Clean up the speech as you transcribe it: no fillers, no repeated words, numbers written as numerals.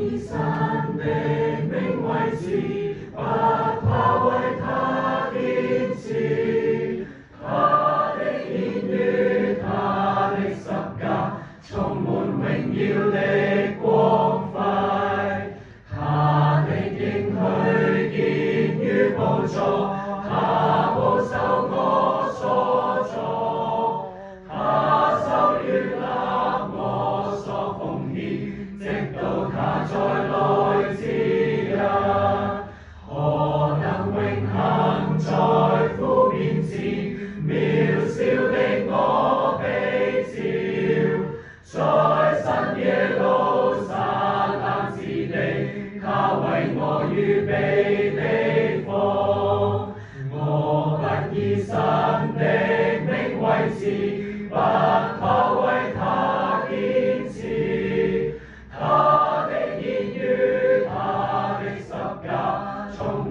以神的名為持，不怕為他堅持。他的言語，他的十架，充滿榮耀的光輝。他的應許建於寶座，他保守我所作。他守悅納我所奉獻，直到他再來之日。何能永恆在父面前，渺小的我被召，在新耶路撒冷之地，他為我預備的福。我不以神的名為恥，不怕為他堅持。他的言語，他的十架，充